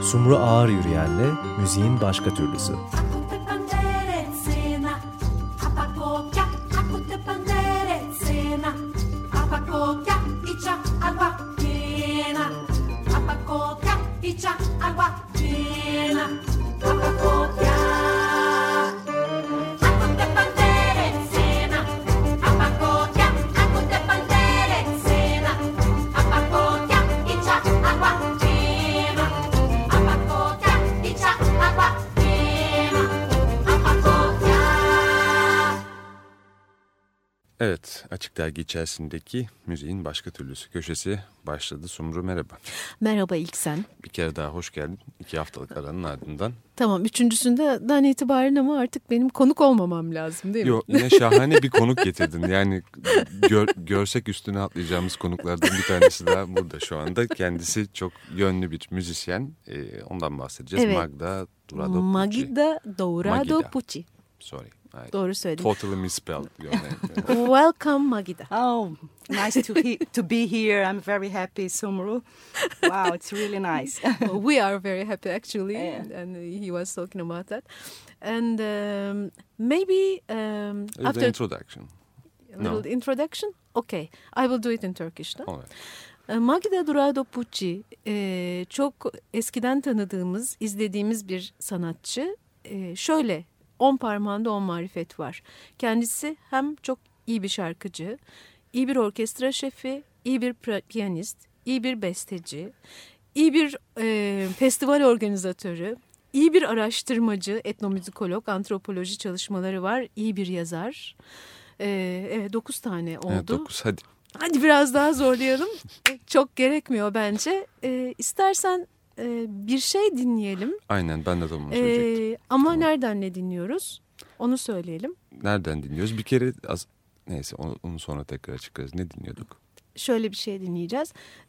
Sumru Ağır Yürüyen'le müziğin başka türlüsü. Evet, Açık Dergi içerisindeki müziğin başka türlüsü köşesi başladı. Sumru merhaba. Merhaba İlksen. Bir kere daha hoş geldin. 2 haftalık aranın ardından. Tamam, üçüncüsünden itibaren ama artık benim konuk olmamam lazım değil mi? Yok, yine şahane bir konuk getirdin. Yani görsek üstüne atlayacağımız konuklardan bir tanesi daha burada şu anda. Kendisi çok yönlü bir müzisyen. Ondan bahsedeceğiz. Evet. Magda Dourado Pucci. Magda Dourado Pucci. Sorry. Doğru söyledim. Totally misspelled your name. Welcome Magda. Oh, nice to be here. I'm very happy, Sumru. Wow, it's really nice. We are very happy actually, Yeah. and he was talking about that. And maybe after the introduction. a little introduction. Okay, I will do it in Turkish. No? All right. Magda Dourado Pucci çok eskiden tanıdığımız, izlediğimiz bir sanatçı. Şöyle 10 parmağında 10 marifet var. Kendisi hem çok iyi bir şarkıcı, iyi bir orkestra şefi, iyi bir piyanist, iyi bir besteci, iyi bir festival organizatörü, iyi bir araştırmacı, etnomüzikolog, antropoloji çalışmaları var, iyi bir yazar. Evet, 9 tane oldu. Evet, 9 hadi. Hadi biraz daha zorlayalım. Çok gerekmiyor bence. İstersen bir şey dinleyelim. Aynen, ben de onu söyleyecektim. Ama Tamam. nereden ne dinliyoruz? Onu söyleyelim. Nereden dinliyoruz? Bir kere neyse onu sonra tekrar açıklarız. Ne dinliyorduk? Şöyle bir şey dinleyeceğiz.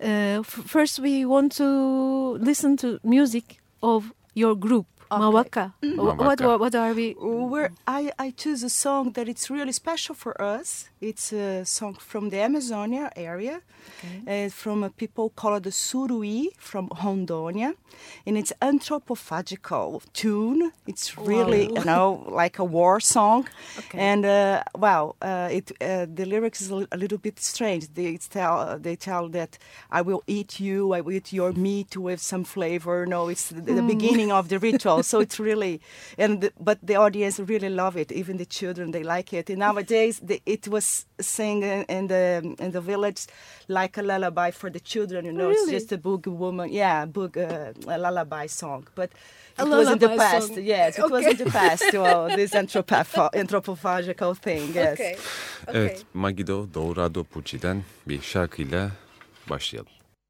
First we want to listen to music of your group. Okay. Mawaka. What are we? I choose a song that it's really special for us. It's a song from the Amazonia area, from a people called the Surui from Rondônia, and it's anthropophagical tune. It's really, like a war song. Okay. And the lyrics is a little bit strange. They tell that I will eat you, I will eat your meat with some flavor. No, it's the beginning of the ritual. So it's really, but the audience really love it. Even the children, they like it. And nowadays, it was sing in the village like a lullaby for the children. Really? It's just a boogie woman, a lullaby song. But it was in the past. Song. Yes, it was in the past. This anthropophagical thing. Yes. Okay. Evet, Magda Dourado Pucci'den bir şarkıyla başlayalım.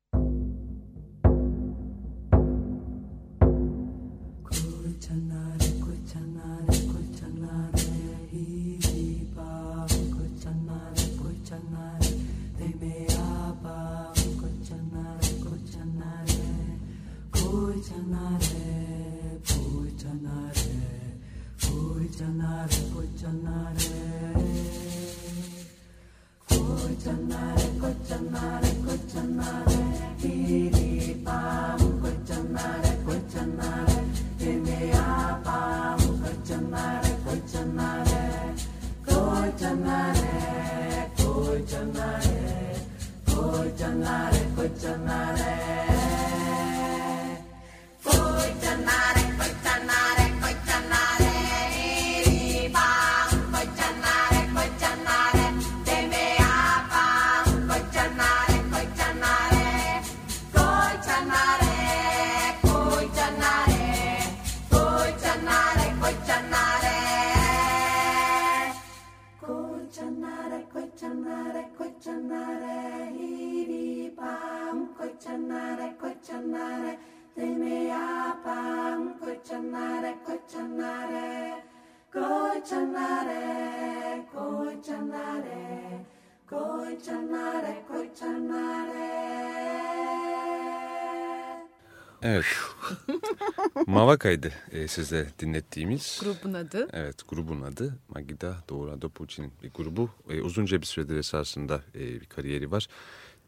Evet. Mavaka'ydı size dinlettiğimiz. Grubun adı. Evet, grubun adı Magda Dourado Pucci'nin bir grubu. Uzunca bir süredir esasında bir kariyeri var.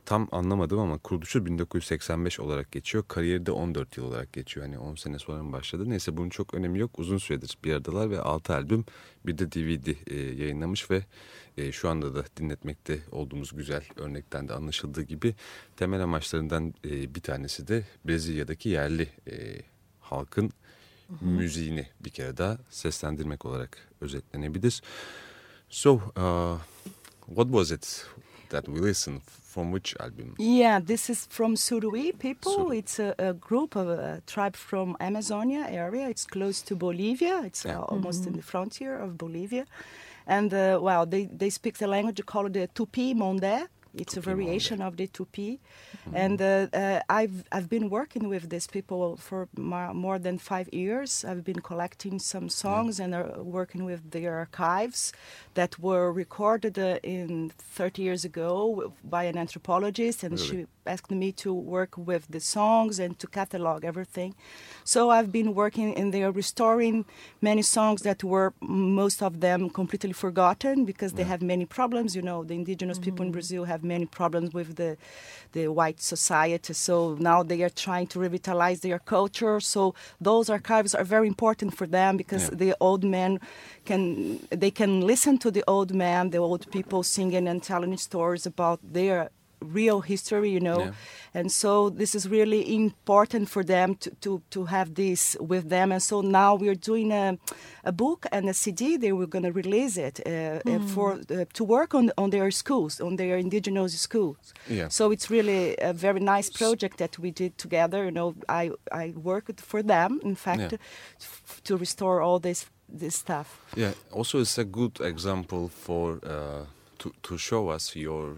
tam anlamadım ama kuruluşu 1985 olarak geçiyor. Kariyeri de 14 yıl olarak geçiyor. Hani 10 sene sonra mı başladı? Neyse bunun çok önemi yok. Uzun süredir bir aradalar ve 6 albüm bir de DVD yayınlamış ve şu anda da dinletmekte olduğumuz güzel örnekten de anlaşıldığı gibi temel amaçlarından bir tanesi de Brezilya'daki yerli halkın müziğini bir kere daha seslendirmek olarak özetlenebilir. So, what was it that we listened from which album? Yeah, this is from Surui people. Surui. It's a group of a tribe from Amazonia area. It's close to Bolivia. It's almost in the frontier of Bolivia. And they speak the language called the Tupi Mondé. It's a variation of the Tupi. And I've been working with these people for more than 5 years. I've been collecting some songs and working with their archives that were recorded in 30 years ago by an anthropologist. And she asked me to work with the songs and to catalog everything. So I've been working in there restoring many songs that were, most of them, completely forgotten because they have many problems. You know, the indigenous people in Brazil have many problems with the white society. So now they are trying to revitalize their culture. So those archives are very important for them because the old men can listen to the old man, the old people singing and telling stories about their real history, you know. And so this is really important for them to have this with them. And so now we're doing a book and a CD. They were going to release it to work on their schools, on their indigenous schools. Yeah. So it's really a very nice project that we did together. You know, I worked for them, in fact, to restore all this stuff. Yeah. Also, it's a good example for to show us your,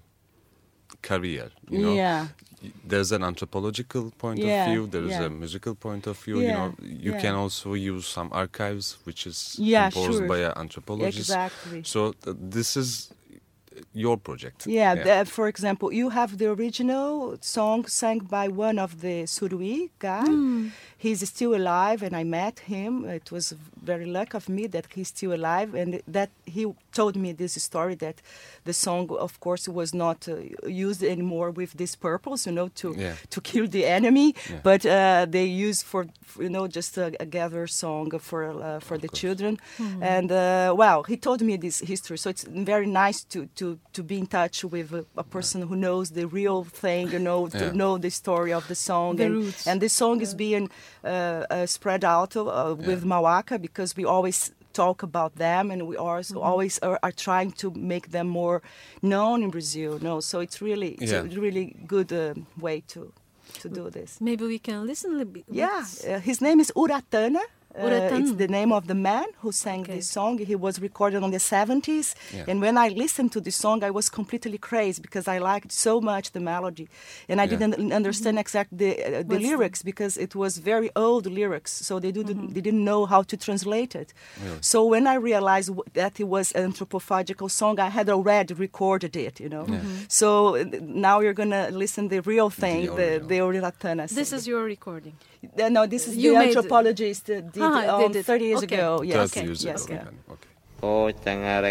career. There's an anthropological point of view. There is a musical point of view. You can also use some archives, which is composed by an anthropologist. Exactly. So this is your project. For example, you have the original song sang by one of the Surui guy. He's still alive, and I met him. It was very lucky of me that he's still alive, and that he told me this story that the song, of course, was not used anymore with this purpose, to kill the enemy, but they used for just a gather song for the children. And he told me this history, so it's very nice to be in touch with a person who knows the real thing, to know the story of the song. And this song is being spread out with Mauaca because we always talk about them, and we always are trying to make them more known in Brazil. So it's really a really good way to do this. Maybe we can listen a little bit. His name is Uratana. It's the name of the man who sang this song. He was recorded in the 70s. And when I listened to this song, I was completely crazy because I liked so much the melody. And I didn't understand exactly the lyrics because it was very old lyrics. So they didn't know how to translate it. Really? So when I realized that it was an anthropophagical song, I had already recorded it, So now you're going to listen the real thing, the Uratana. This is your recording. No, this is the anthropologist did 30 years ago. Yes. 30 years ago. Yeah. Okay.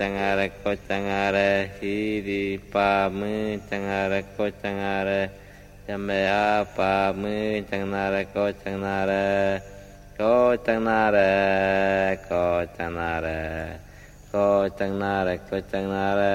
Kocangare, hiri pa mu cangare, kocangare, jamea pa mu cangare, kocangare, kocangare, kocangare, kocangare, kocangare.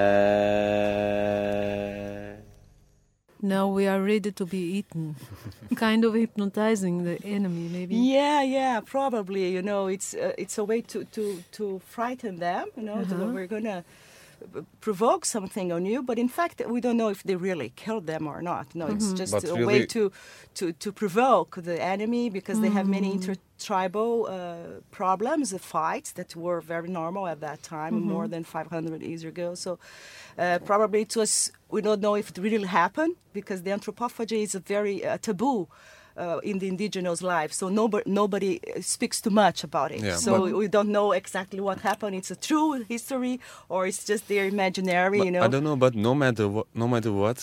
Now we are ready to be eaten. Kind of hypnotizing the enemy, maybe. Yeah, probably. It's a way to frighten them. We're gonna provoke something on you, but in fact, we don't know if they really killed them or not. No, it's just but a really way to provoke the enemy because they have many intertribal problems, fights that were very normal at that time, more than 500 years ago. So probably it was. We don't know if it really happened because the anthropophagy is a very taboo in the indigenous life. So nobody speaks too much about it. Yeah, so we don't know exactly what happened. It's a true history or it's just their imaginary. I don't know, but no matter what,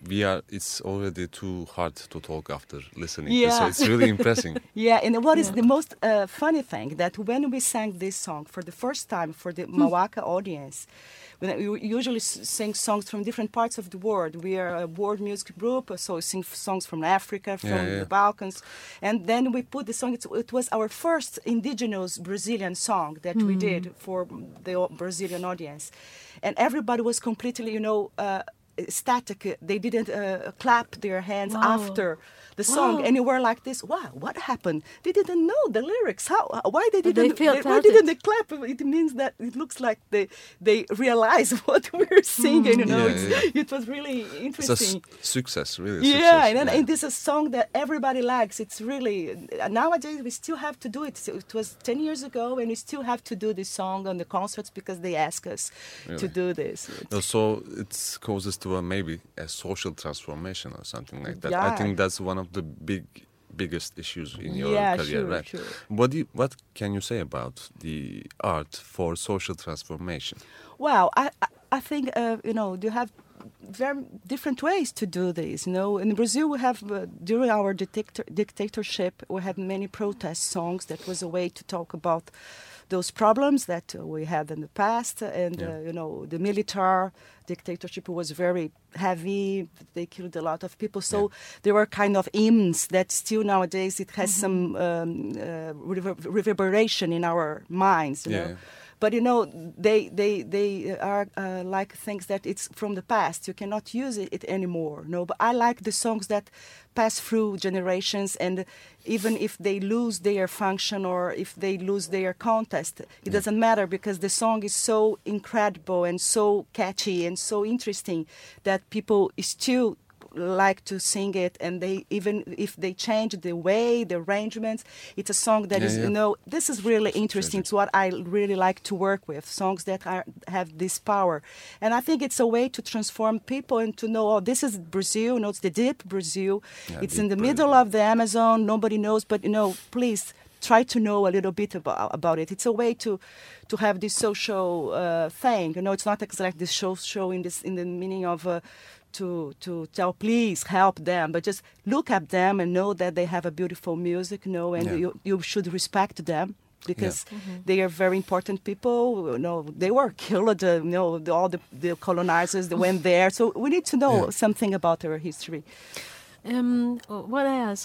it's already too hard to talk after listening. Yeah. So it's really impressive. Yeah, and what is the most funny thing that when we sang this song for the first time for the Mawaka audience, when we usually sing songs from different parts of the world. We are a world music group, so we sing songs from Africa, from the Balkans, and then we put the song. It was our first indigenous Brazilian song that we did for the Brazilian audience, and everybody was completely, static. They didn't clap their hands after the song, and you were like this. Wow, what happened? They didn't know the lyrics. Why they didn't? Why didn't they clap? It means that it looks like they realize what we're singing. It was really interesting. It's a success, really. And this is a song that everybody likes. It's really nowadays we still have to do it. So it was 10 years ago, and we still have to do this song on the concerts because they ask us to do this. So it causes to maybe a social transformation or something like that. Yeah. I think that's one of the biggest issues in your career, right? Sure. What can you say about the art for social transformation? Well, I think you have very different ways to do this. In Brazil we have during our dictatorship we had many protest songs. That was a way to talk about those problems that we had in the past, and the military dictatorship was very heavy. They killed a lot of people, so there were kind of hymns that still nowadays it has some reverberation in our minds. But they are like things that it's from the past. You cannot use it anymore. But I like the songs that pass through generations, and even if they lose their function or if they lose their context, it doesn't matter, because the song is so incredible and so catchy and so interesting that people still like to sing it, and they even if they change the way, the arrangements, it's a song that is this is really interesting. It's what I really like to work with, songs that have this power, and I think it's a way to transform people and to know, this is Brazil, it's the deep Brazil, it's in the middle of the Amazon, nobody knows, but please try to know a little bit about it. It's a way to have this social thing. It's not exactly this show in the meaning of to tell, please help them, but just look at them and know that they have a beautiful music, and you should respect them, because they are very important people. They were killed. All the colonizers that went there, so we need to know something about their history. What I ask,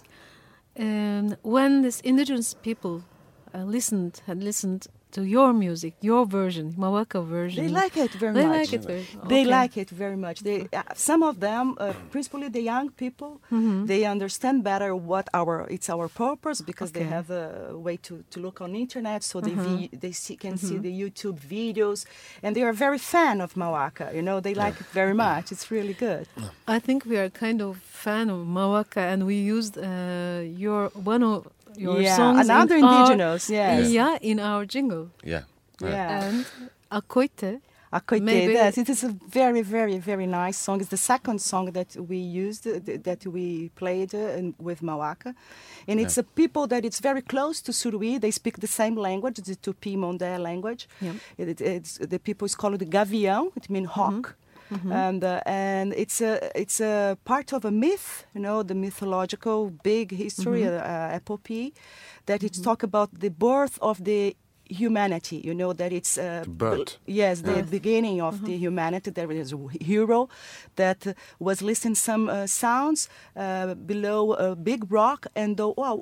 when this indigenous people had listened to your music, your version, Mawaka version. They like it very much. They like it very much. Some of them, principally the young people, they understand better what it's our purpose, because they have a way to look on the internet, so they can see the YouTube videos, and they are very fan of Mawaka. They like it very much. It's really good. I think we are kind of fan of Mawaka, and we used your songs another indigenous, in our jingle. And Akoite. Yes, it is a very, very, very nice song. It's the second song that we used, that we played with Mawaka. And it's a people that it's very close to Suruí. They speak the same language, the Tupi-Mondé language. The people is called Gavião, it means hawk. And it's a part of a myth, the mythological big history, epopee, that it's talk about the birth of the humanity. That it's the beginning of the humanity. There is a hero that was listening some sounds below a big rock, and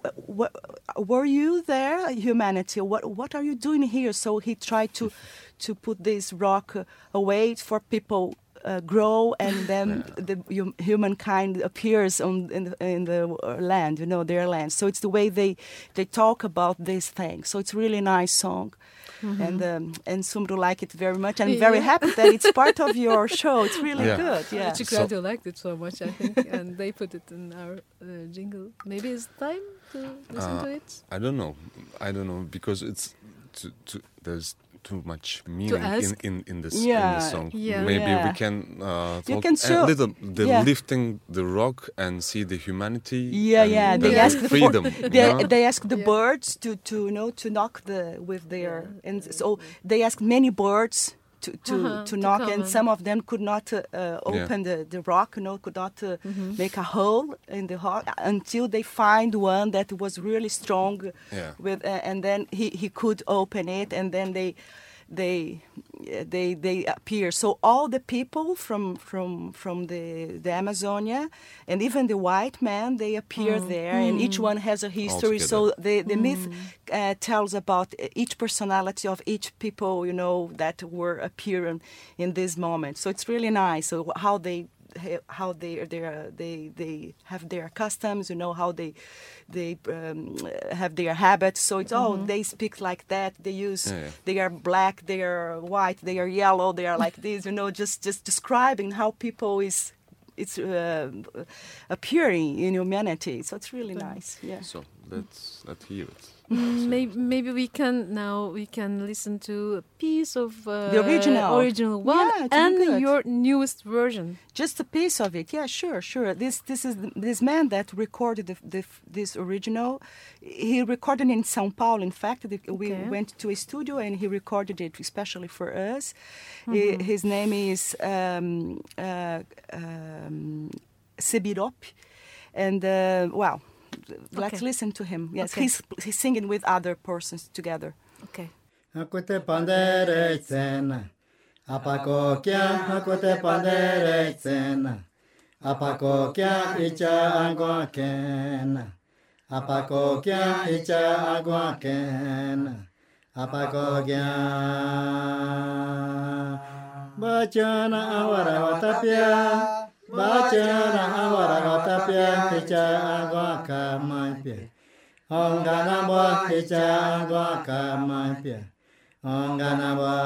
were you there, humanity? What are you doing here? So he tried to put this rock away for people. Grow, and then the humankind appears in the land, their land. So it's the way they talk about this thing. So it's a really nice song, and Sumru like it very much. I'm very happy that it's part of your show. It's really good. Yeah, Chicrado liked it so much, I think, and they put it in our jingle. Maybe it's time to listen to it. I don't know, because it's there's too much meaning in the song. Maybe we can talk a little lifting the rock and see the humanity. They ask the freedom. They ask the birds to knock with their, and so they ask many birds to knock, come and in. some of them could not open the rock, could not make a hole in the rock until they find one that was really strong. Yeah. And then he could open it, and then they appear. So all the people from the Amazonia, and even the white men, they appear there, and each one has a history. So the myth tells about each personality of each people, that were appearing in this moment. So it's really nice. So how they have their customs, how they have their habits. So it's they speak like that. They use they are black, they are white, they are yellow, they are like this. Just describing how people it's appearing in humanity. So it's really nice. Yeah. So let's hear it. Maybe we can listen to a piece of the original one, yeah, and good. Your newest version. Just a piece of it. Yeah, sure. This is this man that recorded this original. He recorded in São Paulo. In fact, we went to a studio and he recorded it especially for us. His name is Sebirop, and let's listen to him. Yes, he's singing with other persons together. Okay. Hakute pandere tsena, apako kya hakute pandere tsena, apako kya icha agwa kena, apako kya icha agwa kena, apako kya bachana awara watapya. Bachana awara watapya icha agwa kamapya. Ongana bo icha agwa kamapya. Ongana bo.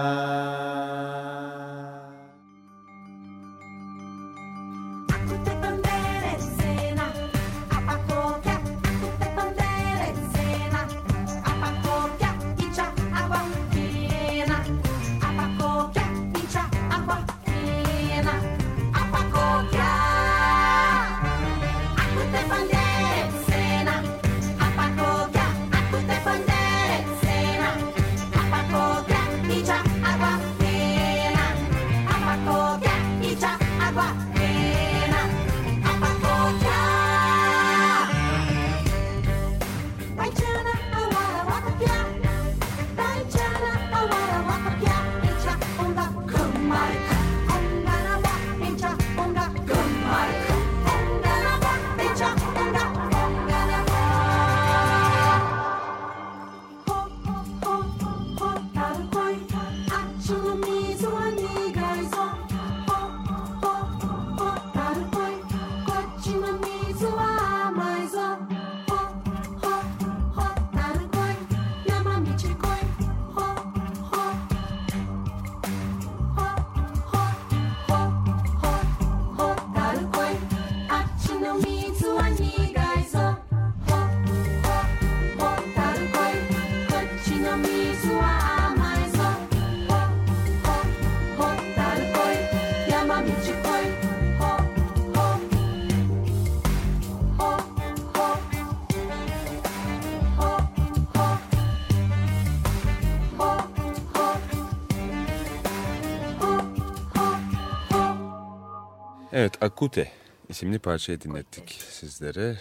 Evet, Akute isimli parçayı dinlettik sizlere.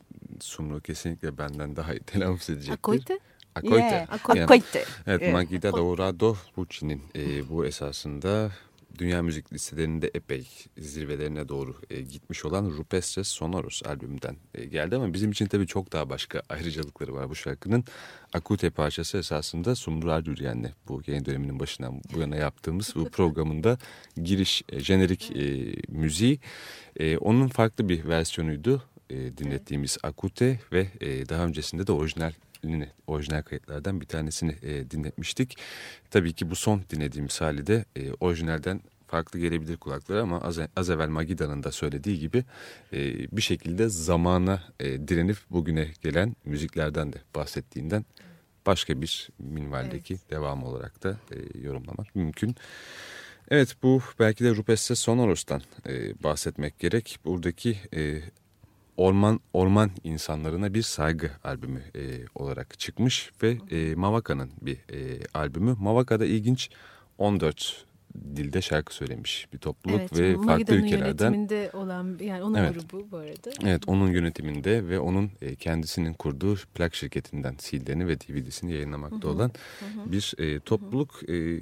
Sumru kesinlikle benden daha iyi telaffuz edecektir. Akoite? Akoite. Yeah. Yani, Akoite. evet, Yeah. Magida Dourado Rucci'nin bu esasında dünya müzik listelerinde epey zirvelerine doğru gitmiş olan Rupestres Sonoros albümünden geldi. Ama bizim için tabii çok daha başka ayrıcalıkları var bu şarkının. Akute parçası esasında Sumru Ardüryen'le bu yayın döneminin başından bu yana yaptığımız bu programında giriş jenerik müziği. Onun farklı bir versiyonuydu dinlettiğimiz Akute ve daha öncesinde de orijinal kayıtlardan bir tanesini dinletmiştik. Tabii ki bu son dinlediğimiz hali de orijinalden farklı gelebilir kulaklara ama az evvel Magida'nın da söylediği gibi bir şekilde zamana direnip bugüne gelen müziklerden de bahsettiğinden başka bir minvaldeki devamı olarak da yorumlamak mümkün. Evet, bu belki de Rupestres Sonoros'tan bahsetmek gerek. Buradaki orman insanlarına bir saygı albümü olarak çıkmış ve Mavaka'nın bir albümü. Mavaka'da ilginç 14 dilde şarkı söylemiş bir topluluk Evet, ve farklı Magida'nın ülkelerden. yönetiminde olan, yani onun Evet. grubu bu arada. Evet, onun yönetiminde ve onun kendisinin kurduğu plak şirketinden CD'lerini ve DVD'sini yayınlamakta olan bir topluluk.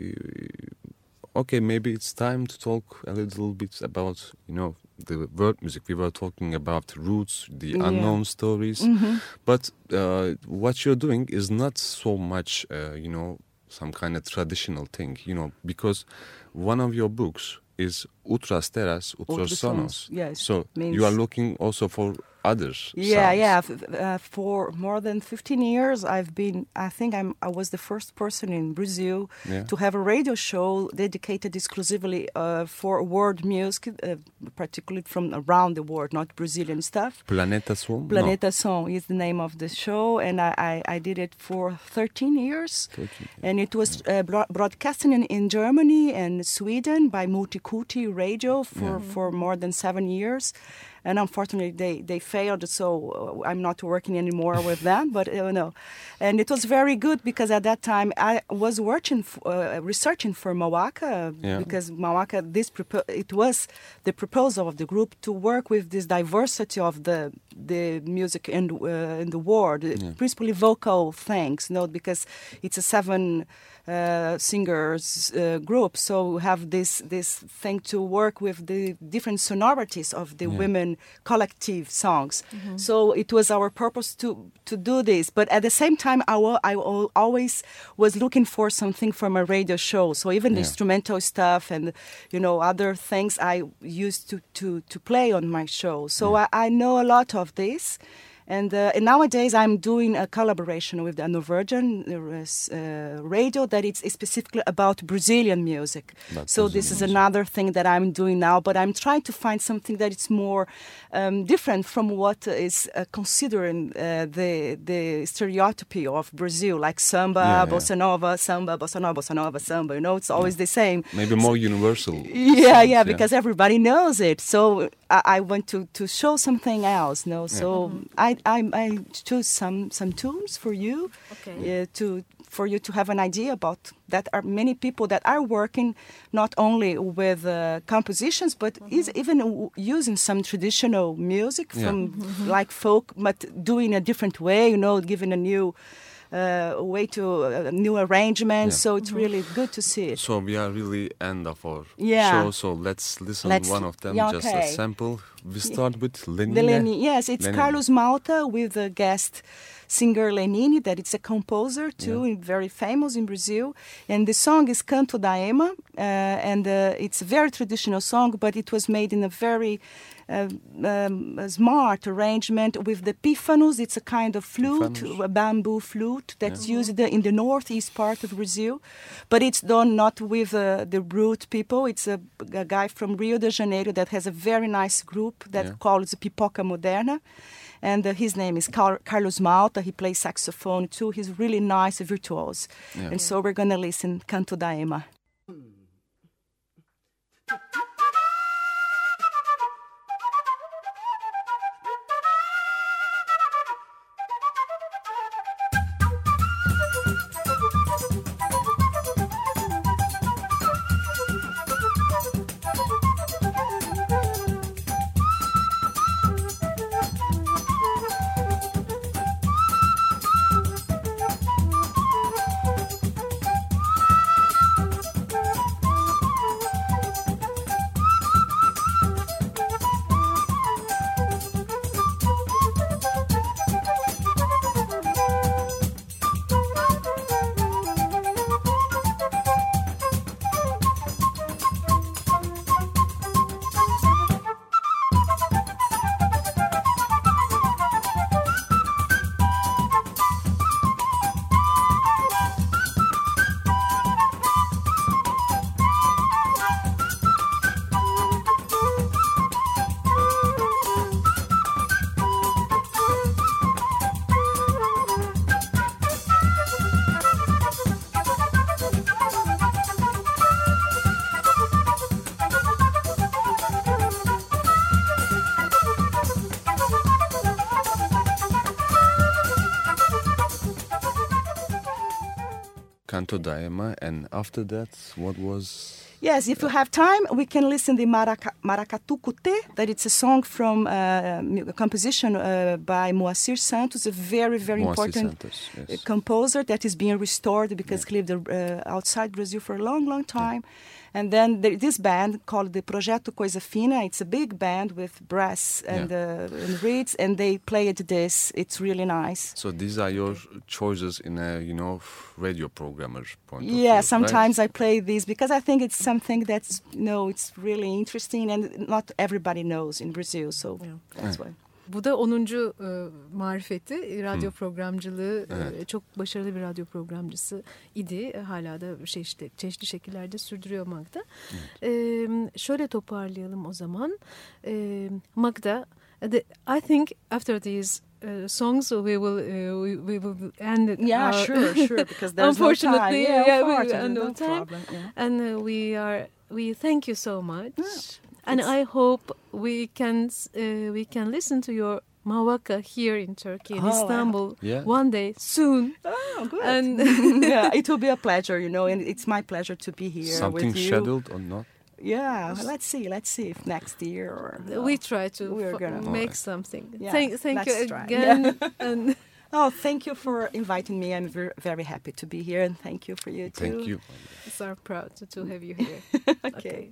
Okay, maybe it's time to talk a little bit about, the world music. We were talking about roots, the unknown stories, but what you're doing is not so much, some kind of traditional thing, because one of your books is Outras Terras, Outros Sonos. Yes, So means- you are looking also for other sounds. Yeah. For more than 15 years, I was the first person in Brazil to have a radio show dedicated exclusively for world music, particularly from around the world, not Brazilian stuff. Planeta Som? Planeta Som is the name of the show, and I did it for 13 years. 13, And it was broadcasting in Germany and Sweden by Multiculti Radio for more than 7 years. And unfortunately, they failed, so I'm not working anymore with them. But and it was very good because at that time I was researching for Mawaka because Mawaka, it was the proposal of the group to work with this diversity of the music in the world, principally vocal things, because it's a 7 singers group, so we have this thing to work with the different sonorities of the women collective songs. So it was our purpose to do this, but at the same time I always was looking for something from a radio show, so even the instrumental stuff and other things I used to play on my show, so I know a lot of this. And nowadays I'm doing a collaboration with the Norwegian radio that it's specifically about Brazilian music. So this is another thing that I'm doing now, but I'm trying to find something that is more different from what is considering the stereotype of Brazil, like samba, bossa nova, samba, bossa nova, bossa nova, samba. It's always the same. Maybe more universal. Yeah, because everybody knows it. So I want to show something else. So I choose some tunes for you, for you to have an idea about that. Are many people that are working not only with compositions, but is even using some traditional music from like folk, but doing a different way. Giving a new way to a new arrangement. So it's really good to see it. So we are really end of our Yeah. show. So let's listen one of them, just a sample. We start with Lenine. The Lenine, yes, it's Lenine. Carlos Malta with the guest singer Lenine, that it's a composer too, and very famous in Brazil. And the song is Canto da Ema, and it's a very traditional song, but it was made in a very smart arrangement with the pífanos. It's a kind of flute, a bamboo flute that's used in the northeast part of Brazil, but it's done not with the root people. It's a guy from Rio de Janeiro that has a very nice group that calls Pipoca Moderna. And his name is Carlos Malta. He plays saxophone too. He's really nice, virtuoso. Yeah. And so we're going to listen Canto da Ema. Canto da Ema, and after that, what was Yes, if you have time, we can listen to Maracatu Cute, that it's a song from a composition by Moacir Santos, a very, very Moacir important Santos, yes. composer that is being restored because he lived outside Brazil for a long, long time. And then this band called the Projeto Coisa Fina, it's a big band with brass and reeds, and they played this. It's really nice. So these are your choices in a, radio programmer point of view, Yeah, sometimes right? I play these because I think it's something that's, it's really interesting and not everybody knows in Brazil, so that's why. Bu da 10. marifeti. Radyo programcılığı, çok başarılı bir radyo programcısı idi. Hala da çeşitli şekillerde sürdürüyor Magda. Şöyle toparlayalım o zaman. Magda, I think after these songs we will end it. Yeah, sure, because there's no time. Unfortunately, Unfortunately, no no time. problem, yeah. And we thank you so much. And I hope we can listen to your Mavaka here in Turkey, in Istanbul, one day soon. Oh, good. And yeah, it will be a pleasure, and it's my pleasure to be here Something with you. scheduled or not? Yeah, let's see if next year or we try to we're gonna make something. Yeah, Thank you let's try. again. Yeah. And oh, thank you for inviting me. I'm very happy to be here, and thank you for you too. Thank you. it's our proud to have you here. Okay.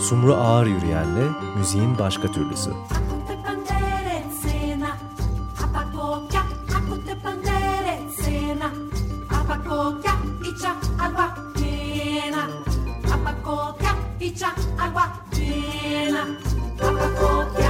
Sumru Ağır Yürüyen'le müziğin başka türlüsü. Agua